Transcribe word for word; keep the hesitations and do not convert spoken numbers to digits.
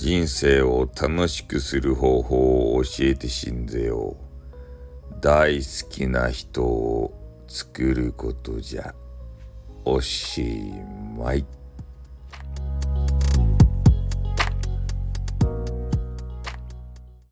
人生を楽しくする方法を教えてしんぜよう。大好きな人を作ることじゃ。おしまい。